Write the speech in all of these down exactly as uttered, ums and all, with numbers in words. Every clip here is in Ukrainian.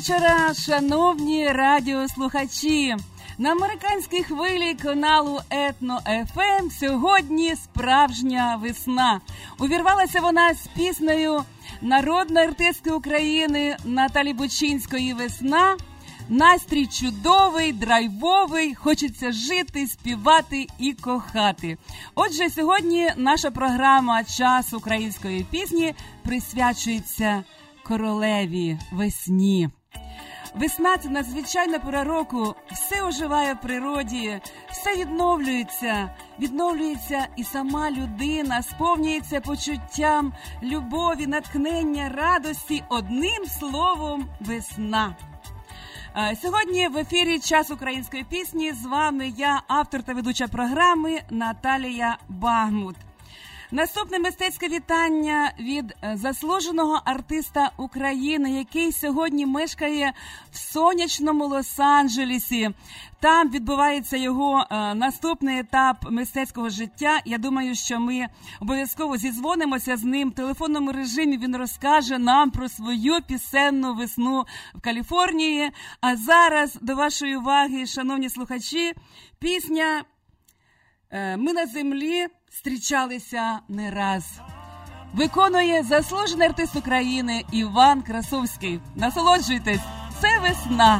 вечора, шановні радіослухачі! На американській хвилі каналу Етно еф ем сьогодні справжня весна. Увірвалася вона з піснею народної артистки України Наталі Бучинської «Весна». Настрій чудовий, драйвовий, хочеться жити, співати і кохати. Отже, сьогодні наша програма «Час української пісні» присвячується королеві весні. Весна – це надзвичайна пора року, все оживає в природі, все відновлюється, відновлюється і сама людина, сповнюється почуттям любові, натхнення, радості, одним словом – весна. Сьогодні в ефірі «Час української пісні» з вами я, автор та ведуча програми Наталія Багмут. Наступне мистецьке вітання від заслуженого артиста України, який сьогодні мешкає в сонячному Лос-Анджелесі. Там відбувається його е, наступний етап мистецького життя. Я думаю, що ми обов'язково зідзвонимося з ним в телефонному режимі. Він розкаже нам про свою пісенну весну в Каліфорнії. А зараз до вашої уваги, шановні слухачі, пісня е, «Ми на землі зустрічалися не раз». Виконує заслужений артист України Іван Красовський. Насолоджуйтесь, це весна.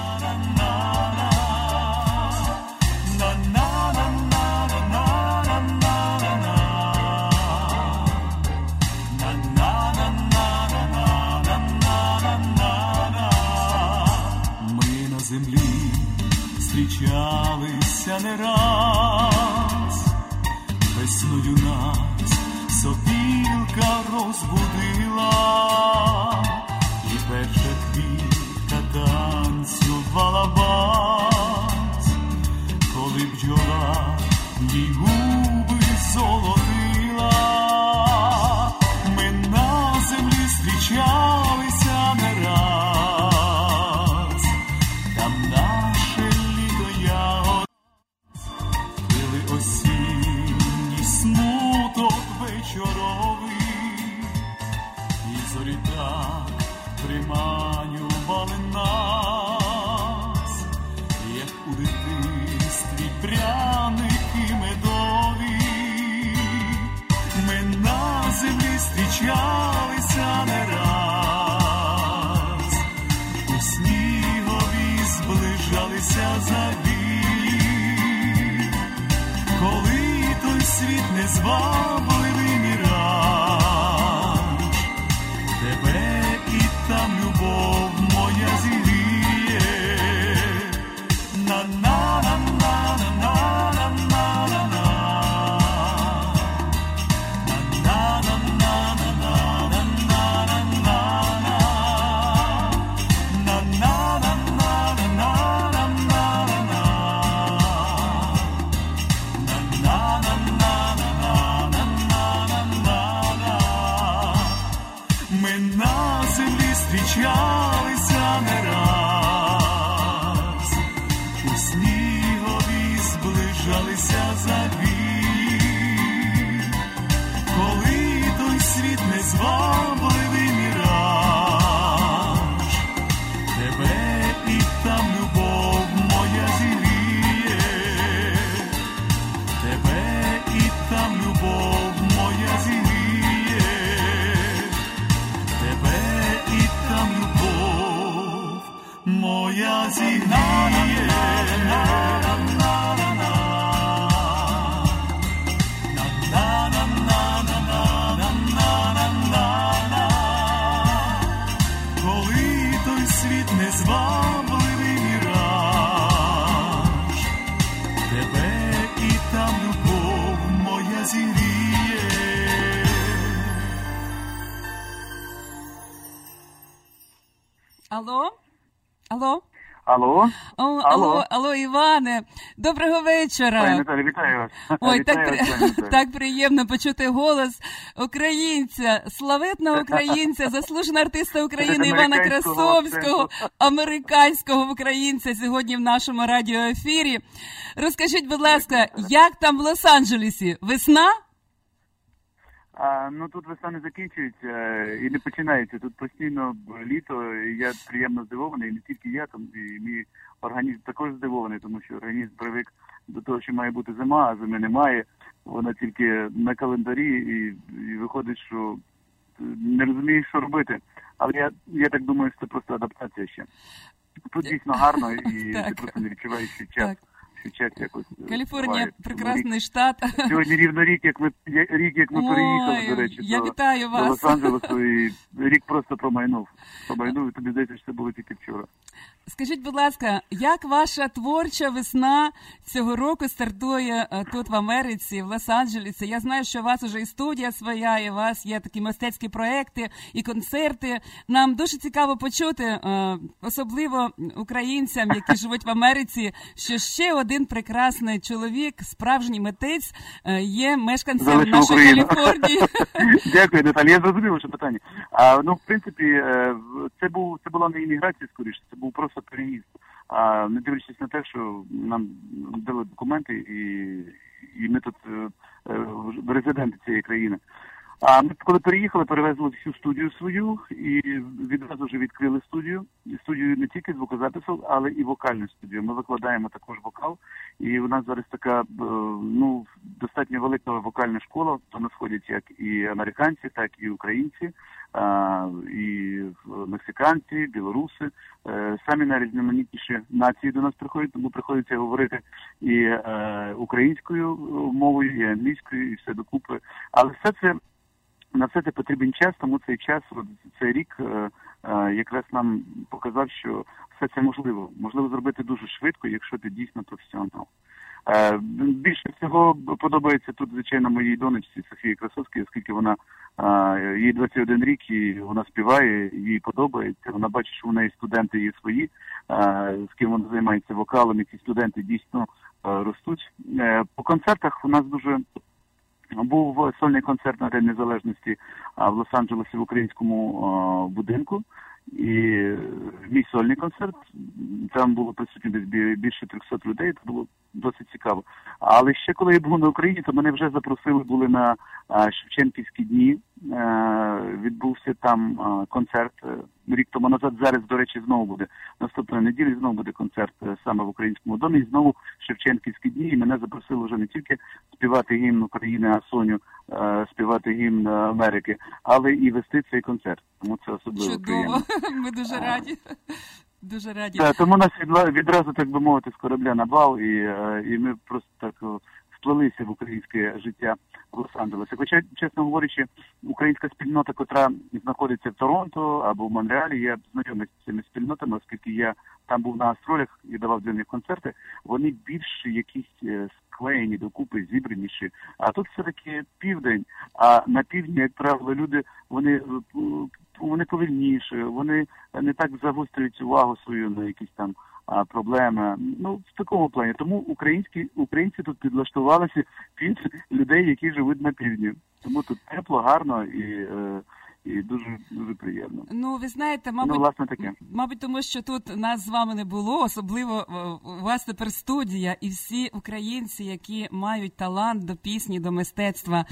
Ми на землі зустрічалися не раз. Весною нас сопілка розбудила, і перша квітка танцювала вальс, коли бджола їй губи золотила. Ми на землі зустрічалися не раз, там наше літо ягод пили осінній смуток вечоровий, і зорі так приманювали нас, як у дитинстві пряники медові. Ми на землі зустрічалися не раз, у снігові зближалися завій, коли той світ незвабливий міраж, тебе і там любов моя зігріє. На-на-на-на-на-на-на-на-на-на. Ми на землі зустрічалися не раз, у снігові зближалися завій, коли той світ незвабливий міраж, тебе і там любов моя зігріє, тебе і там любов моя зігріє. Моя зігріє. Коли той світ незвабливий міраж, тебе і там любов моя зігріє. Алло? Алло? Алло? О, алло, алло, алло, Іване. Доброго вечора. Пані Наталі, вітаю вас. Ой, вітаю так, вас, так приємно почути голос українця, славетного українця, заслуженого артиста України Івана Красовського, американського українця сьогодні в нашому радіоефірі. Розкажіть, будь ласка, як там в Лос-Анджелесі? Весна? А, ну тут весна не закінчується і не починається. Тут постійно літо, і я приємно здивований, і не тільки я, там і мій організм також здивований, тому що організм привик до того, що має бути зима, а зими немає. Вона тільки на календарі, і, і виходить, що не розумієш, що робити. Але я, я так думаю, що це просто адаптація ще. Тут дійсно гарно, і ти просто не відчуваєш, що час. Час якось Каліфорнія буває. прекрасний штат. Сьогодні рівно рік, як ми рік, як ми Ой, переїхали, до речі, я до, вітаю до вас. Лос-Анджелесу, і рік просто промайнув. Промайнув, і тобі здається, що це було тільки вчора. Скажіть, будь ласка, як ваша творча весна цього року стартує тут в Америці, в Лос-Анджелесі? Я знаю, що у вас вже і студія своя, і у вас є такі мистецькі проекти і концерти. Нам дуже цікаво почути, особливо українцям, які живуть в Америці, що ще один прекрасний чоловік, справжній митець, є мешканцем Залишу нашої Україну. Каліфорнії. Дякую, Наталі. Я зрозумів ваше питання. А, ну, в принципі, це був це була не імміграція, скоріше, це був просто переїзд. А не дивлячись на те, що нам дали документи, і, і ми тут е, резиденти цієї країни. А ми коли переїхали, перевезли всю студію свою і відразу вже відкрили студію. І студію не тільки звукозапису, але і вокальну студію. Ми викладаємо також вокал. І у нас зараз така, ну, достатньо велика вокальна школа. То нас ходять як і американці, так і українці, і мексиканці, білоруси. Самі найрізноманітніші нації до нас приходять, тому приходиться говорити і українською мовою, і англійською, і все докупи. Але все це на все це потрібен час, тому цей час, цей рік е, е, якраз нам показав, що все це можливо. Можливо зробити дуже швидко, якщо ти дійсно професіонал. Е, більше всього подобається тут, звичайно, моїй донечці Софії Красовській, оскільки вона, е, їй двадцять один рік, і вона співає, їй подобається. Вона бачить, що в неї студенти є свої, е, з ким вона займається вокалом, і ці студенти дійсно е, ростуть. Е, по концертах у нас дуже... Був сольний концерт на День Незалежності в Лос-Анджелесі в українському будинку. І мій сольний концерт, там було присутні десь більше трьохсот людей, це було досить цікаво. Але ще коли я був на Україні, то мене вже запросили були на Шевченківські дні. Відбувся там концерт рік тому назад. Зараз, до речі, знову буде. Наступної неділі знову буде концерт саме в Українському домі. І знову Шевченківські дні. І мене запросили вже не тільки співати гімн України, а Соню співати гімн Америки, але і вести цей концерт. Тому це особливо приємно. Чудово. Ми дуже раді. Дуже раді. Так, тому нас відразу, так би мовити, з корабля на бал, і, і ми просто так вплилися в українське життя в Лос-Анджелесі. Хоча, чесно говорячи, українська спільнота, котра знаходиться в Торонто або в Монреалі, я знайомий з цими спільнотами, оскільки я там був на гастролях і давав для них концерти, вони більш якісь склеєні докупи, зібраніші. А тут все-таки південь, а на півдні, як правило, люди, вони... вони повільніші, вони не так загострюють увагу свою на якісь там а, проблеми. Ну, в такому плані. Тому українські, українці тут підлаштувалися під людей, які живуть на півдні. Тому тут тепло, гарно і... Е, І дуже, дуже приємно. Ну, ви знаєте, мабуть, ну, власне, таке. мабуть, тому що тут нас з вами не було, особливо у вас тепер студія, і всі українці, які мають талант до пісні, до мистецтва,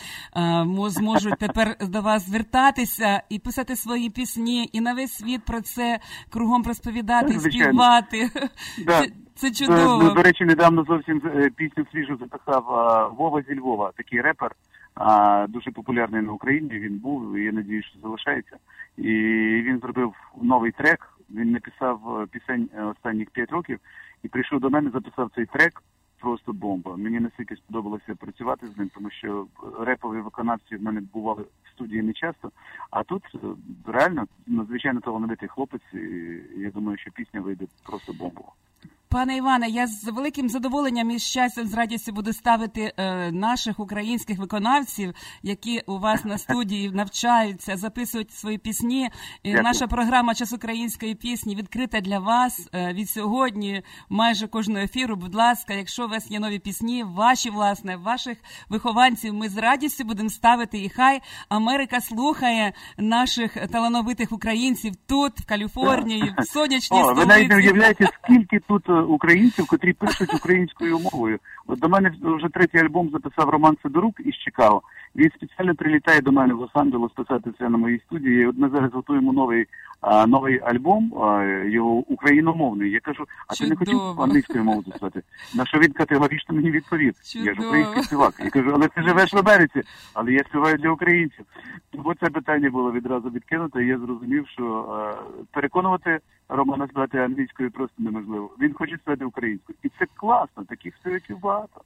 зможуть тепер до вас звертатися і писати свої пісні, і на весь світ про це кругом розповідати, і співати. Да. Це, це чудово. До, до речі, недавно зовсім пісню свіжу записав Вова зі Львова, такий репер. А, дуже популярний на Україні, він був, і я надію, що залишається. І він зробив новий трек, він написав пісень останніх п'ять років, і прийшов до мене, записав цей трек, просто бомба. Мені настільки сподобалося працювати з ним, тому що репові виконавці в мене бували в студії не часто, а тут реально надзвичайно талановитий хлопець, і я думаю, що пісня вийде просто бомбова. Пане Іване, я з великим задоволенням і щастям, з радістю буду ставити е, наших українських виконавців, які у вас на студії навчаються, записують свої пісні. І наша програма «Час української пісні» відкрита для вас е, від сьогодні, майже кожного ефіру. Будь ласка, якщо у вас є нові пісні, ваші, власне, ваших вихованців, ми з радістю будемо ставити. І хай Америка слухає наших талановитих українців тут, в Каліфорнії, в сонячній О, столиці. Ви навіть не уявляєте, скільки тут українців, котрі пишуть українською мовою. От до мене вже третій альбом записав Роман Сидорук із Чикаго. Він спеціально прилітає до мене в Лос-Анджелес писатися на моїй студії. От ми зараз готуємо новий, а, новий альбом, а, його україномовний. Я кажу, а ти не хотів англійською мовою записати? На що він категорично мені відповів? Чудово. Я ж український співак. Я кажу, але ти живеш в Америці, але я співаю для українців. Тому це питання було відразу відкинуто, і я зрозумів, що а, переконувати Романа співати англійською просто неможливо. Він хоче співати українською. І це класно, таких співаків багато.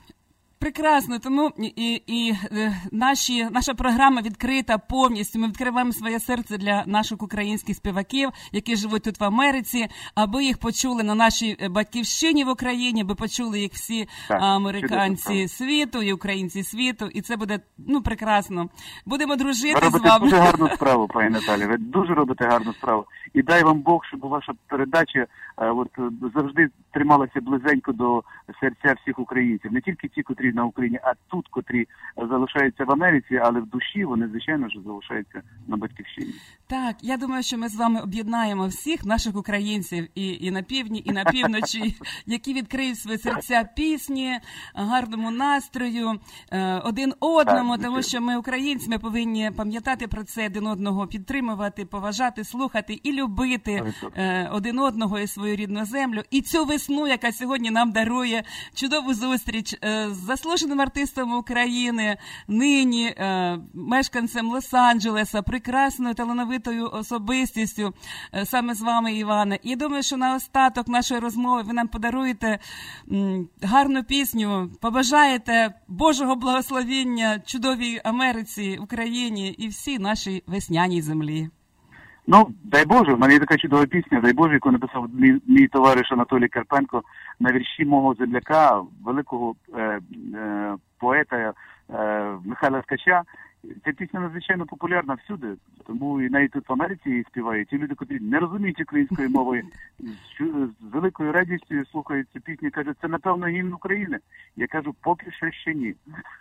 Прекрасно, тому і, і, і наші, наша програма відкрита повністю. Ми відкриваємо своє серце для наших українських співаків, які живуть тут в Америці, аби їх почули на нашій батьківщині в Україні, аби почули їх всі так, американці світу і українці світу. І це буде, ну, прекрасно. Будемо дружити з вами. Ви робите дуже гарну справу, пані Наталі. Ви дуже робите гарну справу. І дай вам Бог, щоб ваша передача от, завжди трималася близенько до серця всіх українців. Не тільки ті, котрі на Україні, а тут, котрі залишаються в Америці, але в душі вони, звичайно ж, залишаються на батьківщині. Так, я думаю, що ми з вами об'єднаємо всіх наших українців і, і на півдні, і на півночі, які відкриють свої серця пісні, гарному настрою, один одному, так, тому що ми українці, ми повинні пам'ятати про це, один одного підтримувати, поважати, слухати і любити один одного і свою рідну землю. І цю весну, яка сьогодні нам дарує чудову зустріч з заслуженим артистом України, нині е, мешканцем Лос-Анджелеса, прекрасною талановитою особистістю, е, саме з вами, Іване. І думаю, що на остаток нашої розмови ви нам подаруєте м, гарну пісню, побажаєте Божого благословіння чудовій Америці, Україні і всій нашій весняній землі. Ну, дай Боже, в мене є така чудова пісня, дай Боже, яку написав мій, мій товариш Анатолій Карпенко на вірші мого земляка, великого е, е, поета е, Михайла Ткача. Ця пісня надзвичайно популярна всюди, тому і навіть тут в Америці її співають. Ті люди, які не розуміють української мови, з, з великою радістю слухають цю пісню і кажуть, це, напевно, гімн України. Я кажу, поки що ще ні.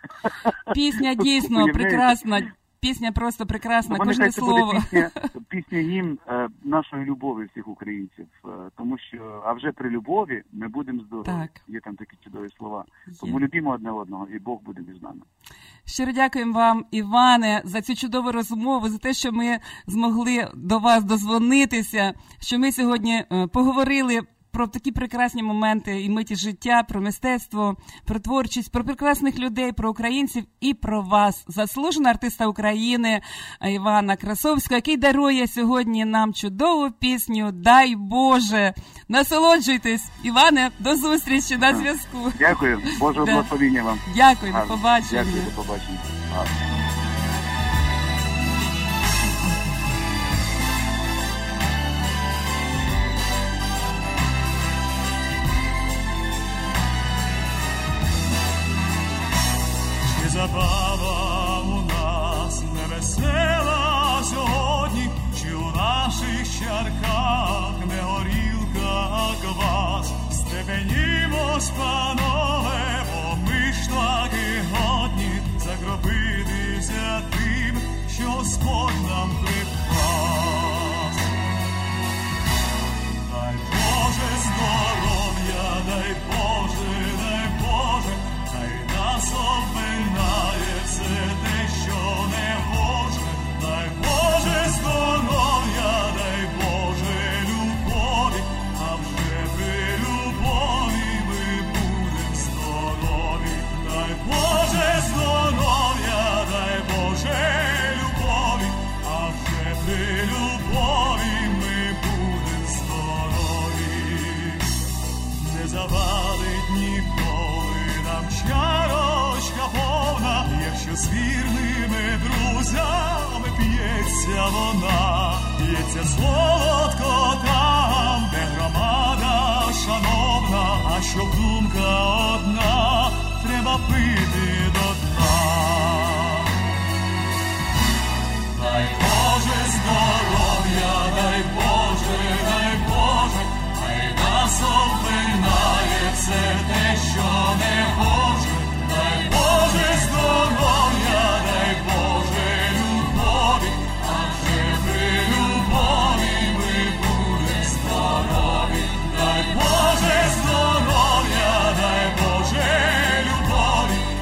Пісня дійсно прекрасна. Пісня просто прекрасна, тому кожне слово. Пісня, пісня гімн е, нашої любові всіх українців. Е, тому що, а вже при любові ми будемо здорові. Так. Є там такі чудові слова. Є. Тому любімо одне одного, і Бог буде між нами. Щиро дякуємо вам, Іване, за цю чудову розмову, за те, що ми змогли до вас дозвонитися, що ми сьогодні е, поговорили про такі прекрасні моменти і миті життя, про мистецтво, про творчість, про прекрасних людей, про українців і про вас, заслуженого артиста України Івана Красовського, який дарує сьогодні нам чудову пісню «Дай Боже». Насолоджуйтесь. Іване, до зустрічі, на зв'язку. Дякую. Божого да. благословіння вам. Дякую, до побачення. Дякую, до побачення. Гарно. Забава у нас невесела сьогодні, чи у наших чарках не горілка, а квас. Степенімось, панове, бо ми ж таки годні закропитися тим, що Господь нам припас. Дай Боже здоров'я, дай Боже, дай Боже, дай нас обминає все те, що не може. Дай Боже здоров'я, дай Боже любові, а вже при любові ми будем здорові. Дай Боже здоров'я, дай Боже любові, а вже при любові ми будем здорові. Не завалить ніколи нам чарочка повна, якщо з вірними друзями п'ється вона, п'ється солодко там, де громада шановна, а щоб думка одна, треба пити до дна. Дай Боже здоров'я, дай Боже, дай Боже, хай нас обминає все те, що не може. Дай Боже здоров'я, дай Боже любові, а вже при любові ми будем здорові. Дай Боже здоров'я, дай Боже любові,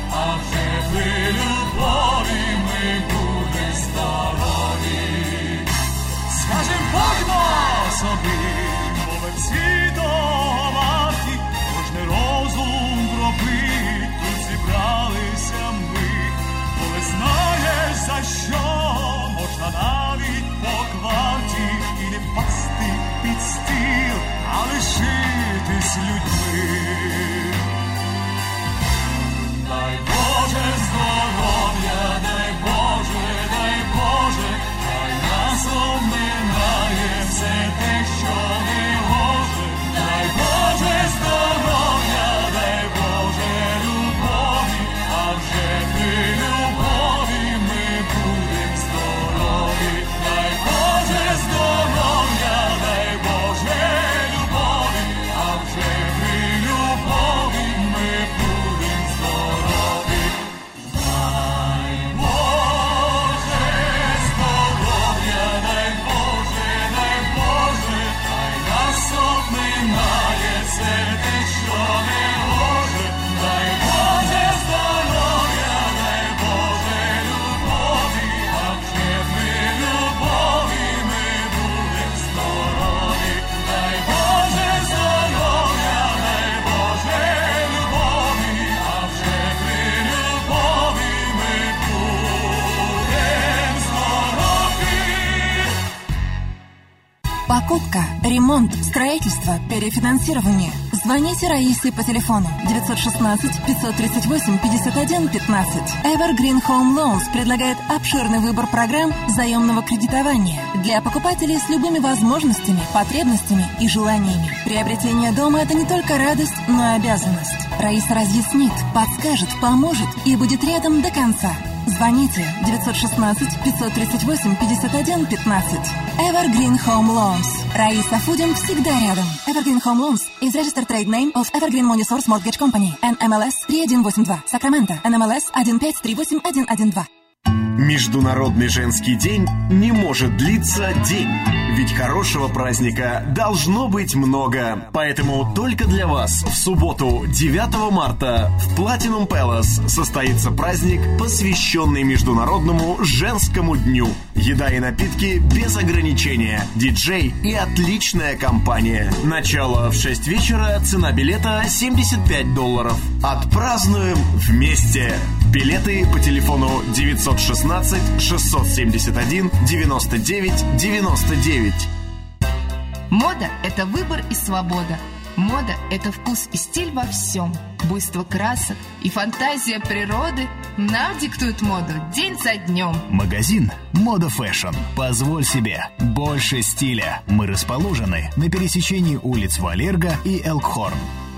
ремонт, строительство, перефинансирование. Звоните Раисе по телефону девятьсот шестнадцать пятьсот тридцать восемь пятьдесят один пятнадцать. Evergreen Home Loans предлагает обширный выбор программ заемного кредитования для покупателей с любыми возможностями, потребностями и желаниями. Приобретение дома – это не только радость, но и обязанность. Раиса разъяснит, подскажет, поможет и будет рядом до конца. Звоните девятьсот шестнадцать пятьсот тридцать восемь пятьдесят один пятнадцать. Evergreen Home Loans. Раиса Фудин всегда рядом. Evergreen Home Loans is registered trade name of Evergreen Money Source Mortgage Company. эн эм эл эс три один восемь два. Сакраменто. эн эм эл эс один пять три восемь один один два. Международный женский день не может длиться день. Ведь хорошего праздника должно быть много. Поэтому только для вас в субботу, девятого марта, в Platinum Palace состоится праздник, посвященный Международному женскому дню. Еда и напитки без ограничения, диджей и отличная компания. Начало в шесть вечера, цена билета семьдесят пять долларов. Отпразднуем вместе. Билеты по телефону девятьсот шестнадцать шестьсот семьдесят один девяносто девять девяносто девять. Мода – это выбор и свобода. Мода – это вкус и стиль во всем. Буйство красок и фантазия природы нам диктуют моду день за днем. Магазин «Мода Фэшн». Позволь себе больше стиля. Мы расположены на пересечении улиц Валерго и Элкхорн.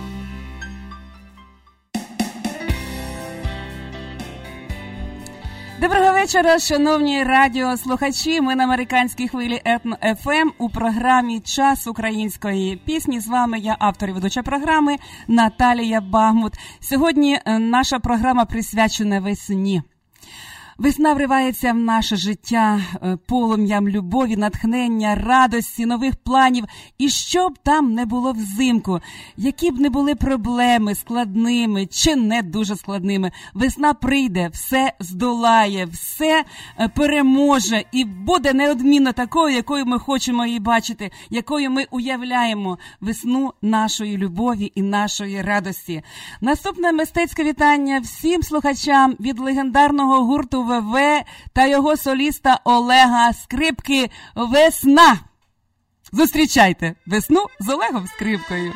Доброго вечора, шановні радіослухачі. Ми на американській хвилі Етно еф ем у програмі «Час української пісні». З вами я, автор і ведуча програми Наталія Багмут. Сьогодні наша програма присвячена весні. Весна вривається в наше життя полум'ям любові, натхнення, радості, нових планів. І що б там не було взимку, які б не були проблеми складними чи не дуже складними, весна прийде, все здолає, все переможе і буде неодмінно такою, якою ми хочемо її бачити, якою ми уявляємо весну нашої любові і нашої радості. Наступне мистецьке вітання всім слухачам від легендарного гурту ВВ та його соліста Олега Скрипки «Весна». Зустрічайте весну з Олегом Скрипкою.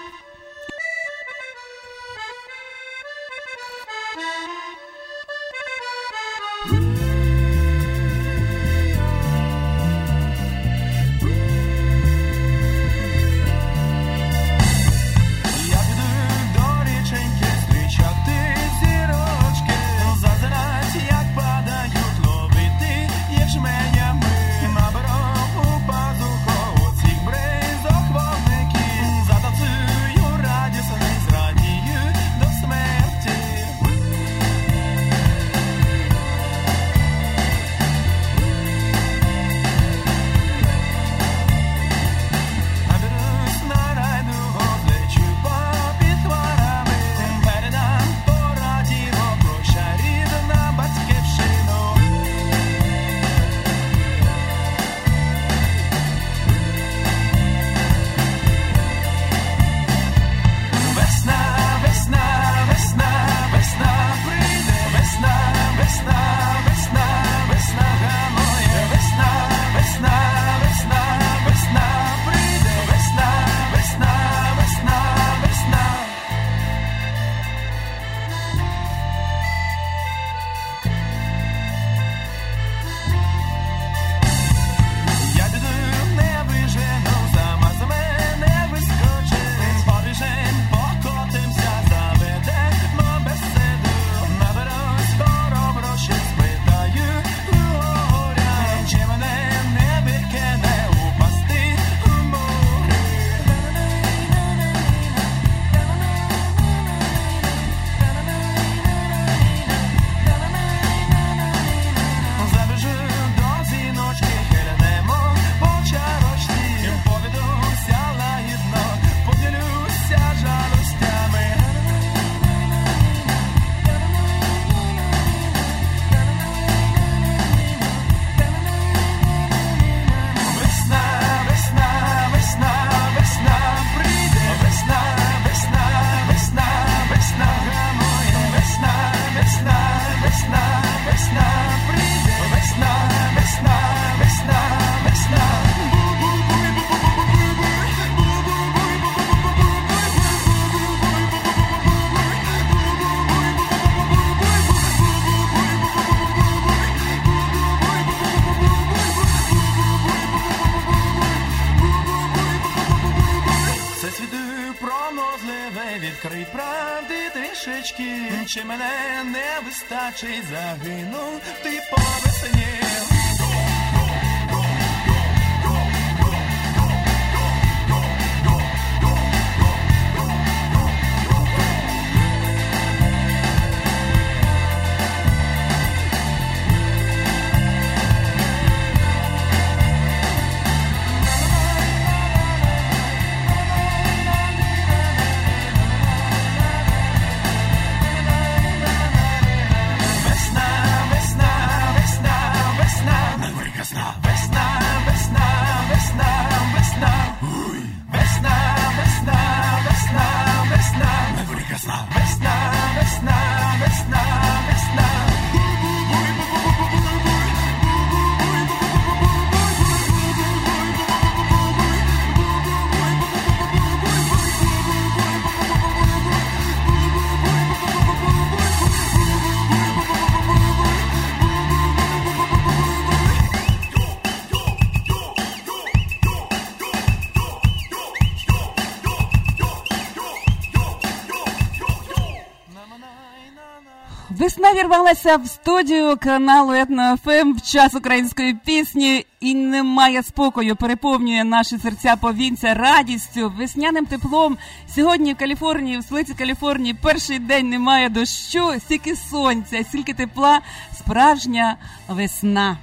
Наберу у пазуху цих бриз до хвостників, затанцюю чи мене не вистачить, загинув ти по весні. Весна вірвалася в студію каналу Етно-ФМ в час української пісні і не має спокою, переповнює наші серця повінця радістю, весняним теплом. Сьогодні в Каліфорнії, в столиці Каліфорнії, перший день немає дощу, стільки сонця, стільки тепла, справжня весна.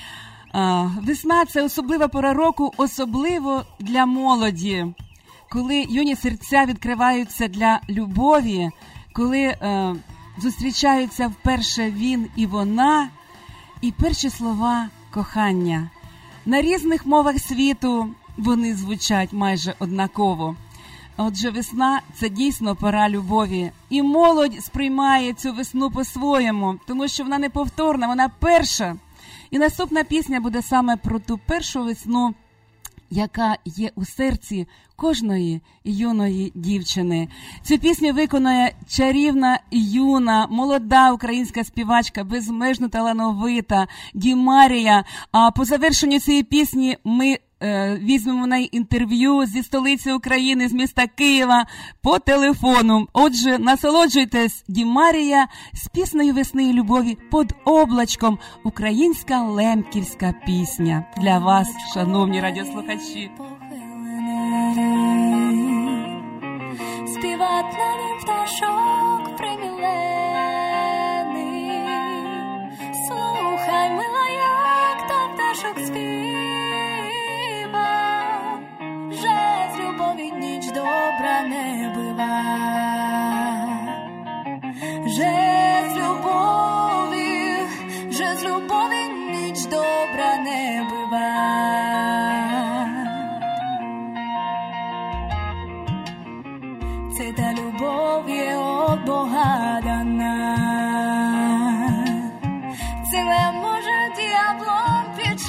А, весна – це особлива пора року, особливо для молоді, коли юні серця відкриваються для любові, коли е, зустрічаються вперше він і вона, і перші слова кохання. На різних мовах світу вони звучать майже однаково. Отже, весна – це дійсно пора любові. І молодь сприймає цю весну по-своєму, тому що вона неповторна, вона перша. І наступна пісня буде саме про ту першу весну, яка є у серці кожної юної дівчини. Цю пісню виконує чарівна, юна, молода українська співачка, безмежно талановита Дімарія. А по завершенню цієї пісні ми е, візьмемо на інтерв'ю зі столиці України, з міста Києва, по телефону. Отже, насолоджуйтесь, Дімарія з піснею весни і любові «Под облачком». Українська лемківська пісня. Для вас, шановні радіослухачі. Співать на нім пташок примілений. Слухай, мила, як то пташок співа, же з любові ніч добра не бива, же з любові, же з любові ніч добра не бива. Це та любов є от Бога дана, це не може діаблом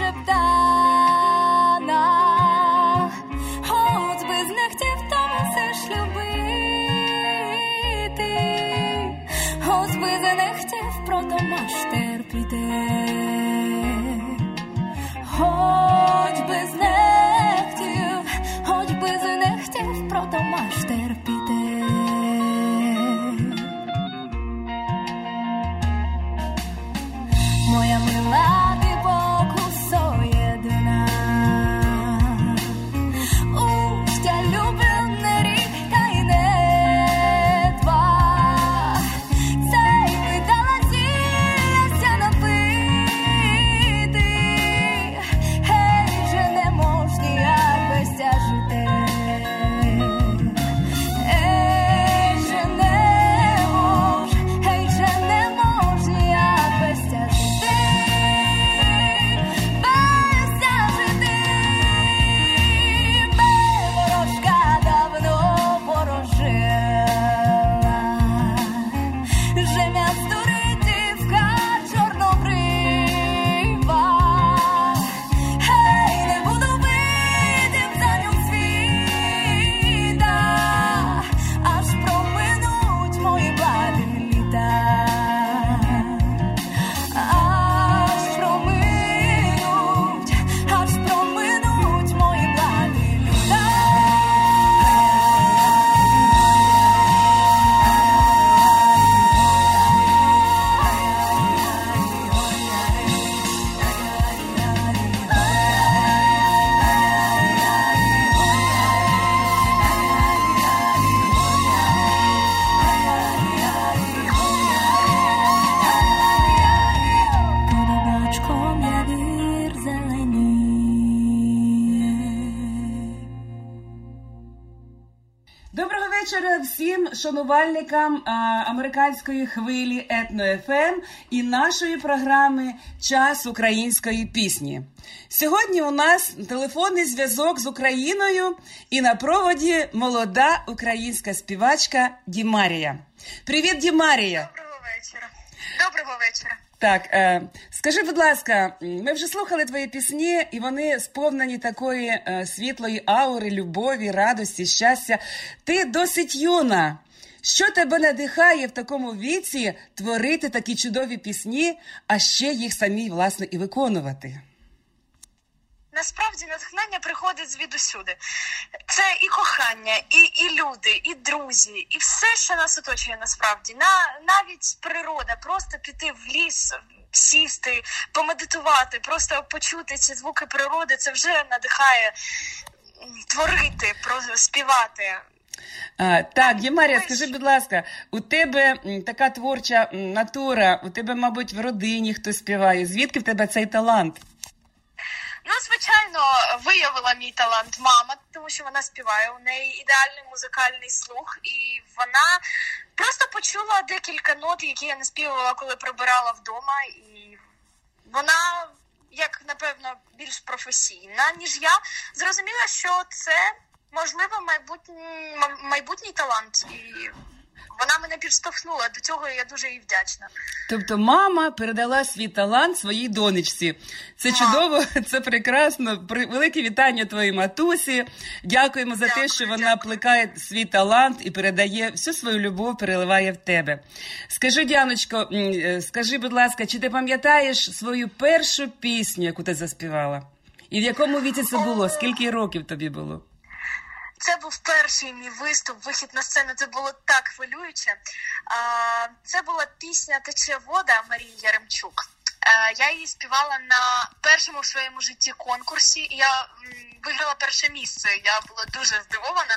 підшептана, от би знехтів, тому все ж любити, от би знехтів, прото маш терпіти, хоч би знехтів, хоч би знехтів, прото маш терпіти. Моя мила, ти покусо єдина, ущтя люблене ріка й не два, цей видала зілляся напити, щиро всім шанувальникам а, американської хвилі Етно-еф ем і нашої програми «Час української пісні». Сьогодні у нас телефонний зв'язок з Україною і на проводі молода українська співачка Дімарія. Привіт, Дімарія! Доброго вечора. Доброго вечора. Так, е, скажи, будь ласка, ми вже слухали твої пісні, і вони сповнені такої е, світлої аури, любові, радості, щастя. Ти досить юна. Що тебе надихає в такому віці творити такі чудові пісні, а ще їх самі, власне, і виконувати? Насправді натхнення приходить звідусюди. Це і кохання, і, і люди, і друзі, і все, що нас оточує насправді. На, навіть природа, просто піти в ліс, сісти, помедитувати, просто почути ці звуки природи, це вже надихає творити, співати. А, так, Дімарія, скажи, будь ласка, у тебе така творча натура, у тебе, мабуть, в родині хтось співає. Звідки в тебе цей талант? Ну, звичайно, виявила мій талант мама, тому що вона співає, у неї ідеальний музикальний слух, і вона просто почула декілька нот, які я не співала, коли прибирала вдома, і вона, як, напевно, більш професійна, ніж я, зрозуміла, що це, можливо, майбутній, майбутній талант, і вона мене підштовхнула, до цього я дуже їй вдячна. Тобто мама передала свій талант своїй донечці. Це а. чудово, це прекрасно. Велике вітання твоїй матусі. Дякуємо за дякую, те, що вона дякую. плекає свій талант і передає всю свою любов, переливає в тебе. Скажи, Діаночко, скажи, будь ласка, чи ти пам'ятаєш свою першу пісню, яку ти заспівала? І в якому віці це було? Скільки років тобі було? Це був перший мій виступ, вихід на сцену, це було так хвилююче. Це була пісня «Тече вода» Марії Яремчук. Я її співала на першому в своєму житті конкурсі, і я виграла перше місце, я була дуже здивована.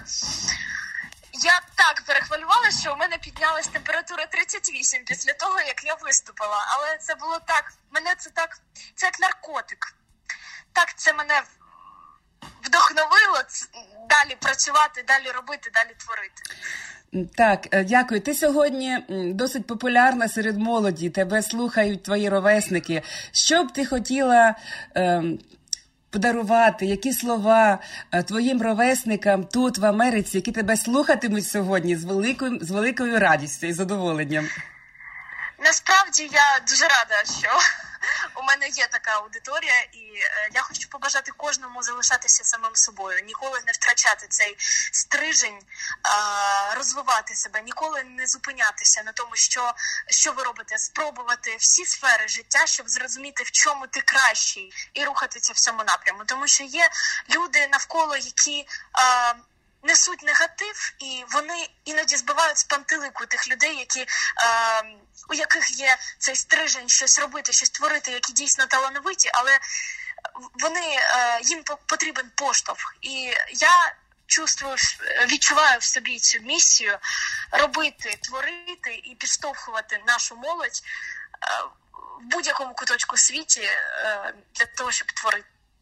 Я так перехвилювалася, що у мене піднялась температура тридцять вісім після того, як я виступила. Але це було так, мене це так, це як наркотик. Так це мене вдохновило далі працювати, далі робити, далі творити. Так, дякую. Ти сьогодні досить популярна серед молоді, тебе слухають твої ровесники. Що б ти хотіла е, подарувати, які слова е, твоїм ровесникам тут, в Америці, які тебе слухатимуть сьогодні з великою, з великою радістю і задоволенням? Насправді я дуже рада, що у мене є така аудиторія, і е, я хочу побажати кожному залишатися самим собою, ніколи не втрачати цей стрижень, е, розвивати себе, ніколи не зупинятися на тому, що, що ви робите, спробувати всі сфери життя, щоб зрозуміти, в чому ти кращий, і рухатися в цьому напряму. Тому що є люди навколо, які е, несуть негатив, і вони іноді збивають з пантелику тих людей, які, е, у яких є цей стрижень щось робити, щось творити, які дійсно талановиті, але вони, е, їм потрібен поштовх. І я чувствую, відчуваю в собі цю місію робити, творити і підштовхувати нашу молодь е, в будь-якому куточку світі е, для того, щоб творити.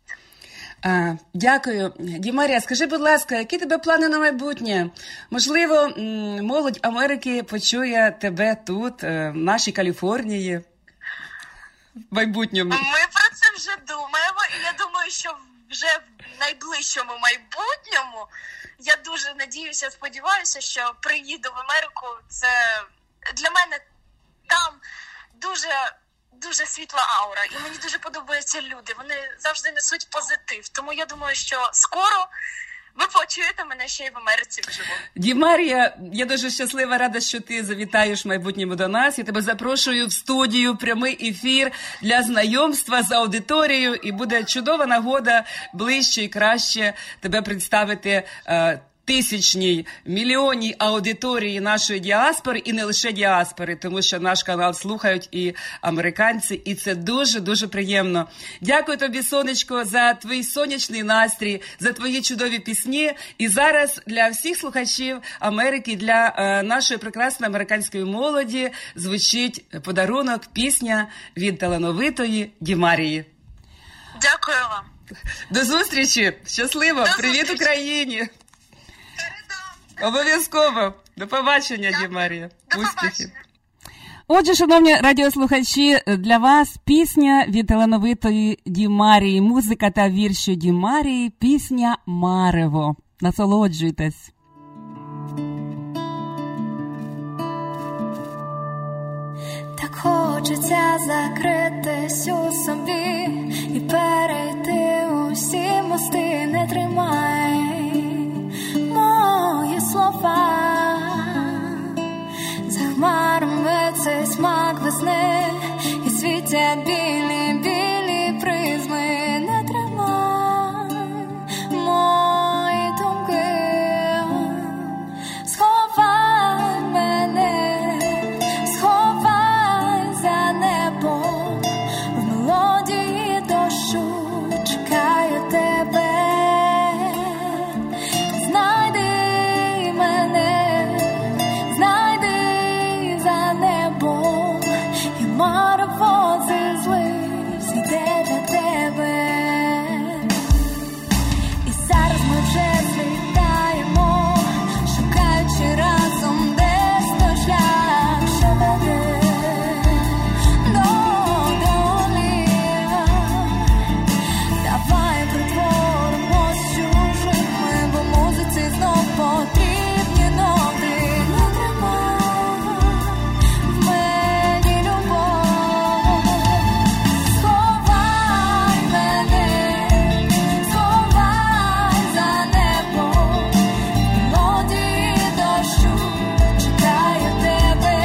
А, дякую. Дімарія, скажи, будь ласка, які тебе плани на майбутнє? Можливо, молодь Америки почує тебе тут, в нашій Каліфорнії, в майбутньому? Ми про це вже думаємо, і я думаю, що вже в найближчому майбутньому, я дуже надіюся, сподіваюся, що приїду в Америку. Це для мене там дуже... дуже світла аура, і мені дуже подобаються люди, вони завжди несуть позитив, тому я думаю, що скоро ви почуєте мене ще й в Америці вживу. Дімарія, я дуже щаслива, рада, що ти завітаєш в майбутньому до нас. Я тебе запрошую в студію, прямий ефір для знайомства з аудиторією, і буде чудова нагода ближче і краще тебе представити е, тисячній, мільйонній аудиторії нашої діаспори, і не лише діаспори, тому що наш канал слухають і американці, і це дуже-дуже приємно. Дякую тобі, сонечко, за твій сонячний настрій, за твої чудові пісні. І зараз для всіх слухачів Америки, для е, нашої прекрасної американської молоді звучить подарунок, пісня від талановитої Дімарії. Дякую вам. До зустрічі! Щасливо! До Привіт зустрічі. Україні! Обов'язково. До побачення, Ді Марія. Успіхів. Отже, шановні радіослухачі, для вас пісня від талановитої Ді Марії, музика та вірші Ді Марії, пісня «Марево». Насолоджуйтесь. Так хочеться закритись у собі і перейти усі мости, не тримай мої слова. За хмарами цей смак весни і світять білі, білі призми, не тримай мої думки. Сховай мене, сховай за небом, в мелодії дощу чекаю тебе. Знайди мене, знайди за небом, і марево злив іде для тебе. І зараз ми вже злітаємо, шукаючи разом десь той шлях, що веде до долі. Давай притворимось чужими, бо музиці знов потрібні ноти. Не тримай в мені любов. Сховай мене, сховай за небом, в мелодії дощу чекаю тебе.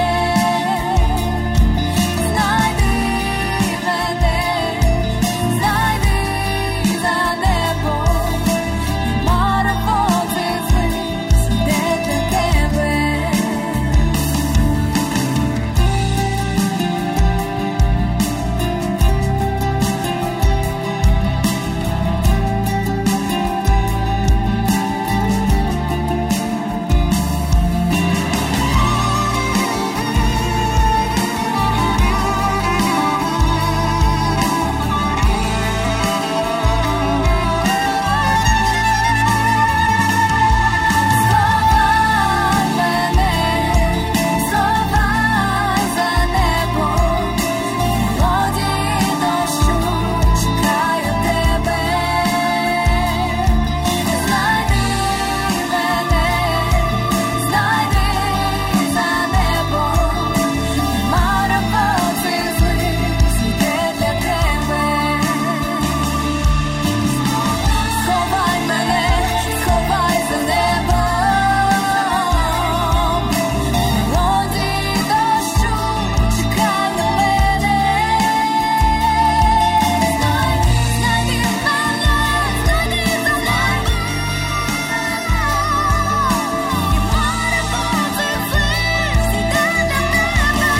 Знайди мене, знайди за небом, і марево злив іде для тебе. Сховай мене, сховай за небом, в мелодії дощу чекаю тебе. Знайди мене, знайди за небом, і марево злив іде для тебе. Сховай мене, сховай за небом, мелодії дощу чекай на мене. Знайди, знайди мене, знайди за небом, і марево злив іде для тебе.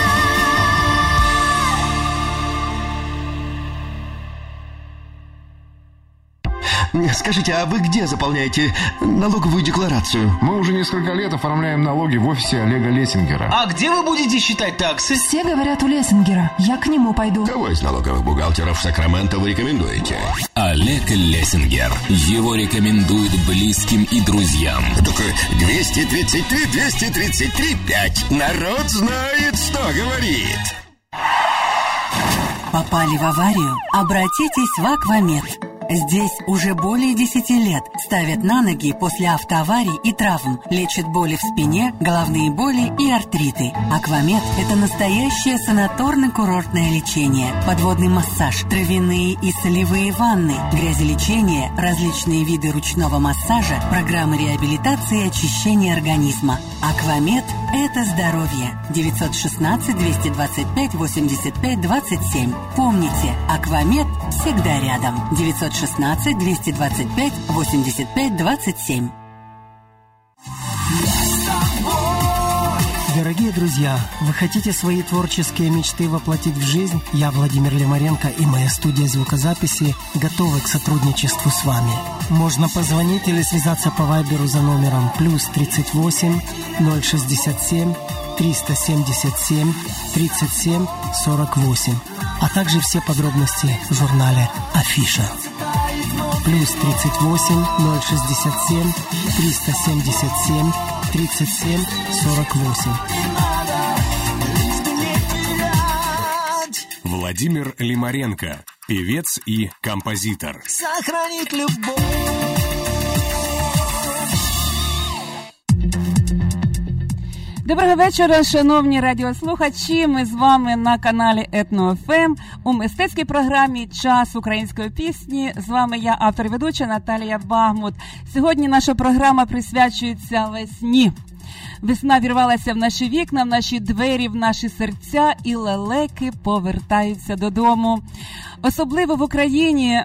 Скажите, а вы где заполняете налоговую декларацию? Мы уже несколько лет оформляем налоги в офисе Олега Лессингера. А где вы будете считать таксы? Все говорят у Лессингера. Я к нему пойду. Кого из налоговых бухгалтеров Сакраменто вы рекомендуете? Олег Лессингер. Его рекомендуют близким и друзьям. Только двести тридцать три, двести тридцать три, пять. Народ знает, что говорит. Попали в аварию? Обратитесь в Аквамед. Здесь уже более десяти лет ставят на ноги после автоаварий и травм, лечат боли в спине, головные боли и артриты. Аквамед – это настоящее санаторно-курортное лечение, подводный массаж, травяные и солевые ванны, грязелечение, различные виды ручного массажа, программы реабилитации и очищения организма. Аквамед – это здоровье. девятьсот шестнадцать двести двадцать пять восемьдесят пять двадцать семь. Помните, Аквамед всегда рядом. девятьсот шестнадцать двести двадцать пять восемьдесят пять двадцать семь. Дорогие друзья, вы хотите свои творческие мечты воплотить в жизнь? Я, Владимир Лемаренко, и моя студия звукозаписи готовы к сотрудничеству с вами. Можно позвонить или связаться по вайберу за номером плюс тридцать восемь ноль шестьдесят семь триста семьдесят семь тридцать семь сорок восемь, а также все подробности в журнале «Афиша». плюс тридцать восемь ноль шестьдесят семь триста семьдесят семь тридцать семь сорок восемь. Владимир Лимаренко, певец и композитор. Сохранить любовь. Доброго вечора, шановні радіослухачі. Ми з вами на каналі Етно еф ем у мистецькій програмі «Час української пісні». З вами я, автор і ведуча Наталія Багмут. Сьогодні наша програма присвячується весні. Весна вірвалася в наші вікна, в наші двері, в наші серця, і лелеки повертаються додому. Особливо в Україні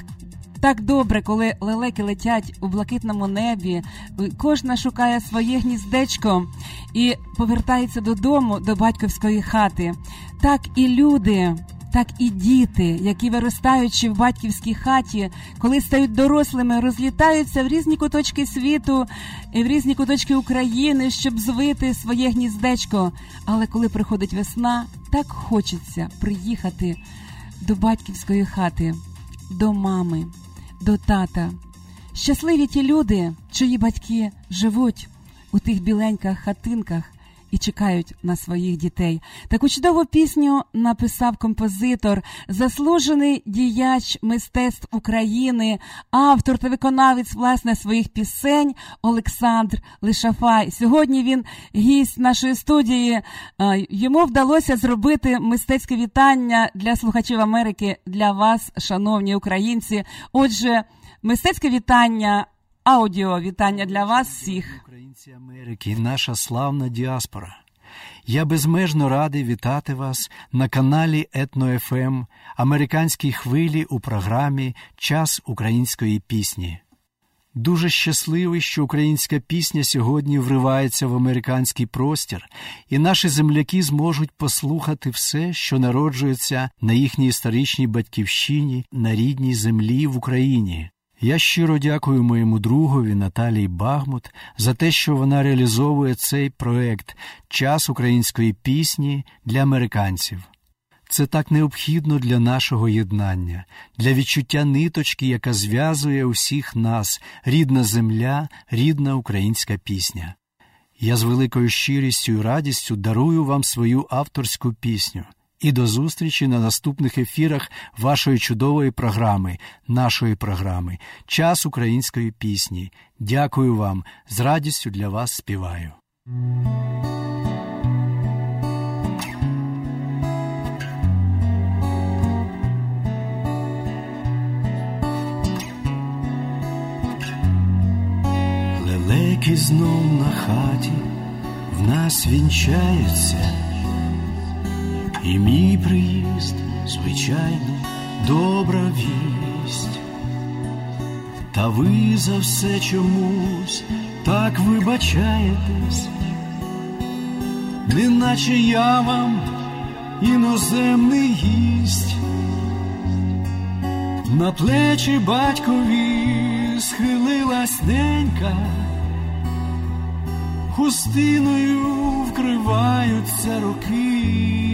так добре, коли лелеки летять у блакитному небі, кожна шукає своє гніздечко і повертається додому, до батьківської хати. Так і люди, так і діти, які, виростаючи в батьківській хаті, коли стають дорослими, розлітаються в різні куточки світу і в різні куточки України, щоб звити своє гніздечко. Але коли приходить весна, так хочеться приїхати до батьківської хати, до мами, до тата. Щасливі ті люди, чиї батьки живуть у тих біленьких хатинках і чекають на своїх дітей. Таку чудову пісню написав композитор, заслужений діяч мистецтв України, автор та виконавець, власне, своїх пісень Олександр Лишафай. Сьогодні він гість нашої студії. Йому вдалося зробити мистецьке вітання для слухачів Америки, для вас, шановні українці. Отже, мистецьке вітання, аудіо вітання для вас всіх. Українці Америки, наша славна діаспора. Я безмежно радий вітати вас на каналі Етно еф ем, американській хвилі у програмі «Час української пісні». Дуже щасливий, що українська пісня сьогодні вривається в американський простір, і наші земляки зможуть послухати все, що народжується на їхній історичній батьківщині, на рідній землі в Україні. Я щиро дякую моєму другові Наталії Багмут за те, що вона реалізовує цей проект «Час української пісні» для американців. Це так необхідно для нашого єднання, для відчуття ниточки, яка зв'язує усіх нас, рідна земля, рідна українська пісня. Я з великою щирістю і радістю дарую вам свою авторську пісню. І до зустрічі на наступних ефірах вашої чудової програми, нашої програми «Час української пісні». Дякую вам, з радістю для вас співаю. Лелеки знов на хаті в нас вінчаються, і мій приїзд, звичайно, добра вість. Та ви за все чомусь так вибачаєтесь, неначе я вам іноземний гість. На плечі батькові схилилась ненька, хустиною вкриваються роки.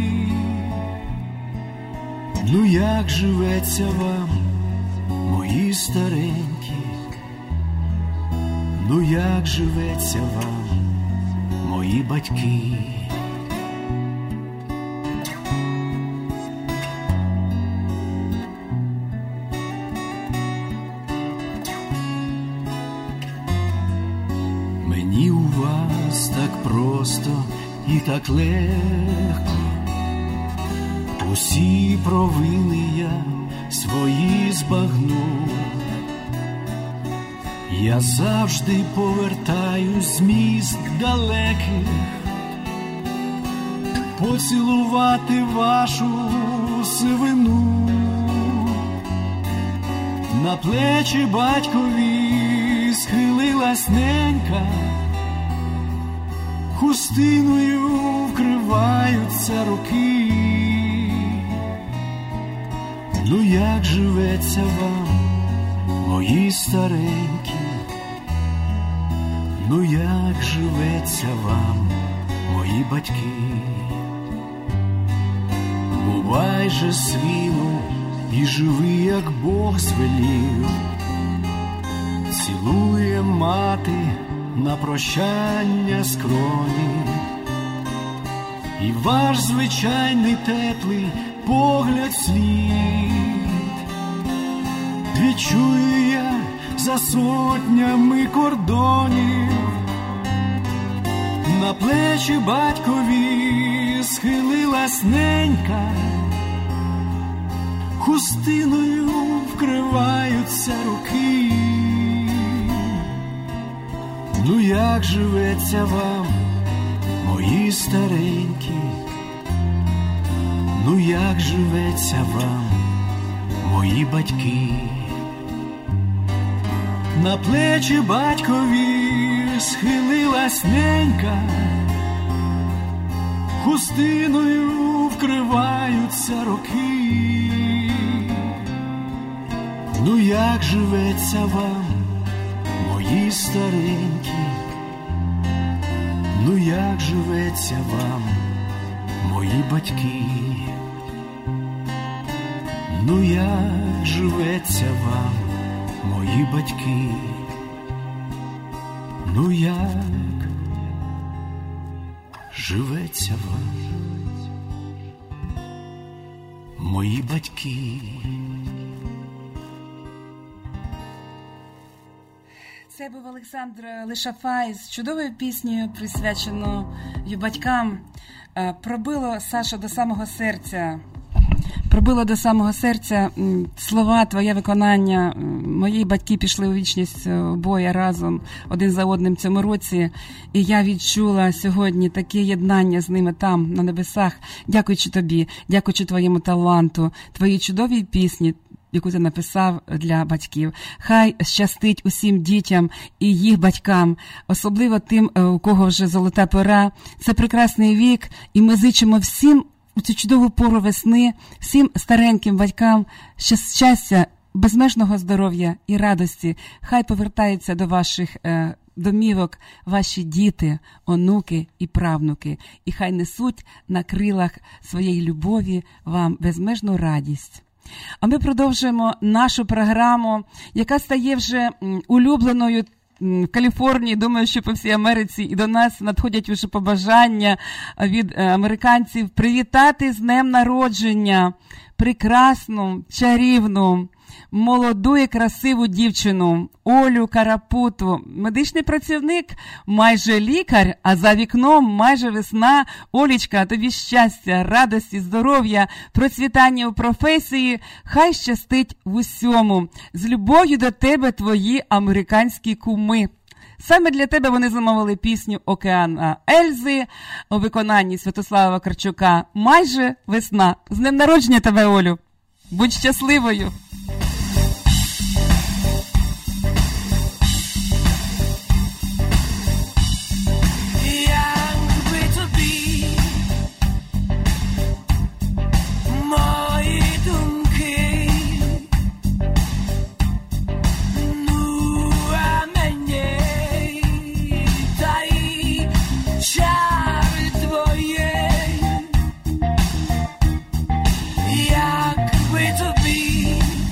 Ну як живеться вам, мої старенькі, ну як живеться вам, мої батьки. Мені у вас так просто і так легко, усі провини я свої збагну. Я завжди повертаюсь з міст далеких, поцілувати вашу сивину. На плечі батькові схилилась ненька, хустиною вкриваються руки. Ну як живеться вам, мої старенькі, ну як живеться вам, мої батьки. Бувай же свіну і живи, як Бог звелів, цілує мати на прощання скроні, і ваш звичайний теплий погляд слід відчую я за сотнями кордонів. На плечі батькові схилилась ненька, хустиною вкриваються руки. Ну як живеться вам, мої старенькі, ну як живеться вам, мої батьки. На плечі батькові схилилась ненька, хустиною вкриваються роки. Ну як живеться вам, мої старенькі, ну як живеться вам, мої батьки, ну як живеться вам, мої батьки, ну як живеться вам, мої батьки. Це був Олександр Лишафай з чудовою піснею, присвяченою батькам. Пробило, Саша, до самого серця. Пробило до самого серця слова, твоє виконання. Мої батьки пішли у вічність обоє разом, один за одним в цьому році. І я відчула сьогодні таке єднання з ними там, на небесах. Дякуючи тобі, дякуючи твоєму таланту, твоїй чудовій пісні, яку ти написав для батьків. Хай щастить усім дітям і їх батькам, особливо тим, у кого вже золота пора. Це прекрасний вік, і ми зичимо всім у цю чудову пору весни, всім стареньким батькам щастя, безмежного здоров'я і радості. Хай повертаються до ваших е, домівок ваші діти, онуки і правнуки, і хай несуть на крилах своєї любові вам безмежну радість. А ми продовжуємо нашу програму, яка стає вже улюбленою в Каліфорнії, думаю, що по всій Америці, і до нас надходять вже побажання від американців привітати з днем народження прекрасну, чарівну, молоду і красиву дівчину Олю Карапуту. Медичний працівник, майже лікар, а за вікном майже весна. Олічка, тобі щастя, радості, здоров'я, процвітання у професії, хай щастить в усьому. З любов'ю до тебе твої американські куми. Саме для тебе вони замовили пісню «Океан Ельзи» у виконанні Святослава Вакарчука «Майже весна». З днем народження тебе, Олю! Будь щасливою! Якби тобі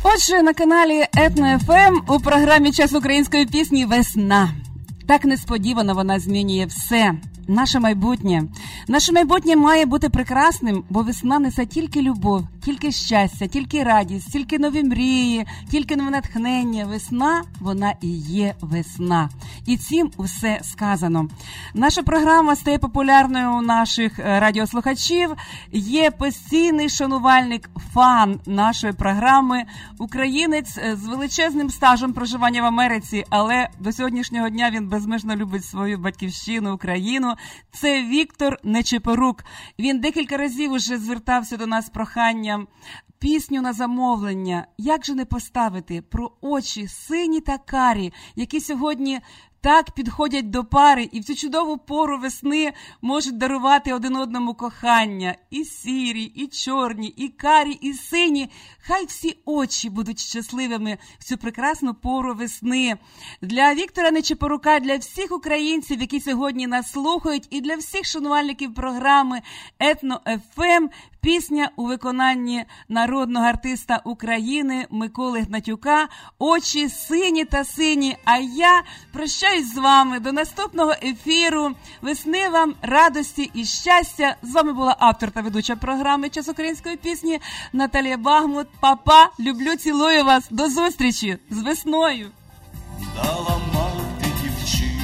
Отже, на каналі Етно еф ем у програмі «Час української пісні» весна. Так несподівано вона змінює все. Наше майбутнє. Наше майбутнє має бути прекрасним, бо весна несе тільки любов, тільки щастя, тільки радість, тільки нові мрії, тільки нове натхнення. Весна, вона і є весна. І цим усе сказано. Наша програма стає популярною у наших радіослухачів. Є постійний шанувальник, фан нашої програми, українець з величезним стажем проживання в Америці, але до сьогоднішнього дня він безмежно любить свою батьківщину, Україну. Це Віктор Нечипорук. Він декілька разів уже звертався до нас з проханням пісню на замовлення. Як же не поставити про очі сині та карі, які сьогодні так підходять до пари і в цю чудову пору весни можуть дарувати один одному кохання. І сірі, і чорні, і карі, і сині. Хай всі очі будуть щасливими в цю прекрасну пору весни. Для Віктора Нечипорука, для всіх українців, які сьогодні нас слухають, і для всіх шанувальників програми Етно еф ем, пісня у виконанні народного артиста України Миколи Гнатюка «Очі сині та сині». А я прощаюсь з вами до наступного ефіру. Весни вам, радості і щастя. З вами була автор та ведуча програми «Час української пісні» Наталія Багмут. Папа, люблю, цілую вас. До зустрічі з весною. Дала мати дівчині,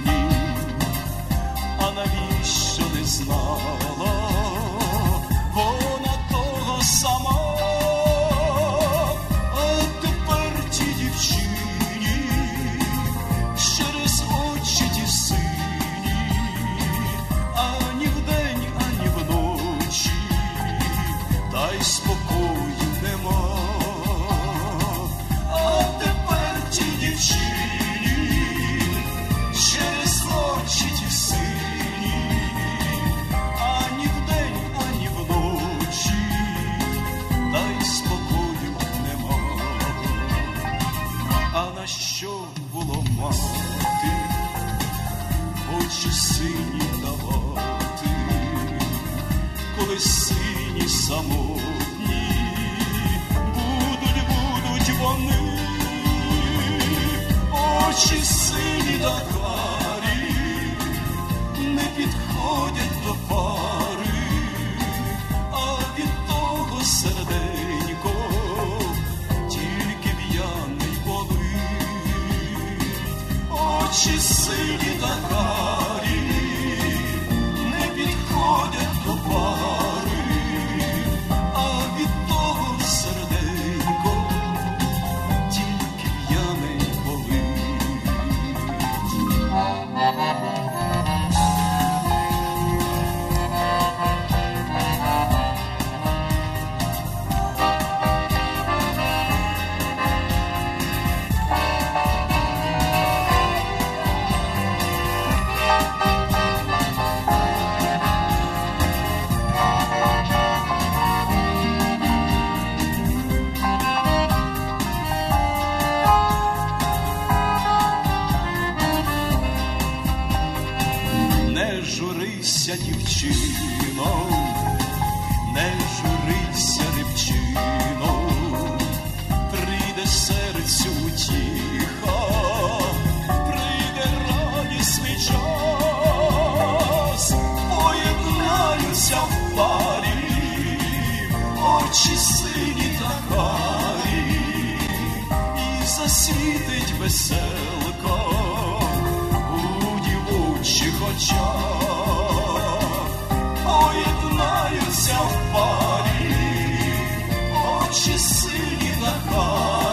а навіщо не знала? Вона того сама, а тепер ті дівчині через очі ті сині, ані вдень, ані вночі, та й спокою нема. А тепер ті дівчині через очі ті сині, ані вдень, ані вночі, та й спокою нема. А на що було мати очі сині давати, коли сині самотні будуть, будуть вони, очі сині та карі не підходять до пари, а від того серденько тільки п'яний болить. Очі сині та карі не підходять до пари, а від того серденько тільки п'яний болить. Не журися, дівчино, не журися, дівчино, прийде серцю утіха, прийде радісний час, поєднаються в парі очі сині та карі, і засвітить веселка у дівочих очах, поєднаються в парі очі сині та карі.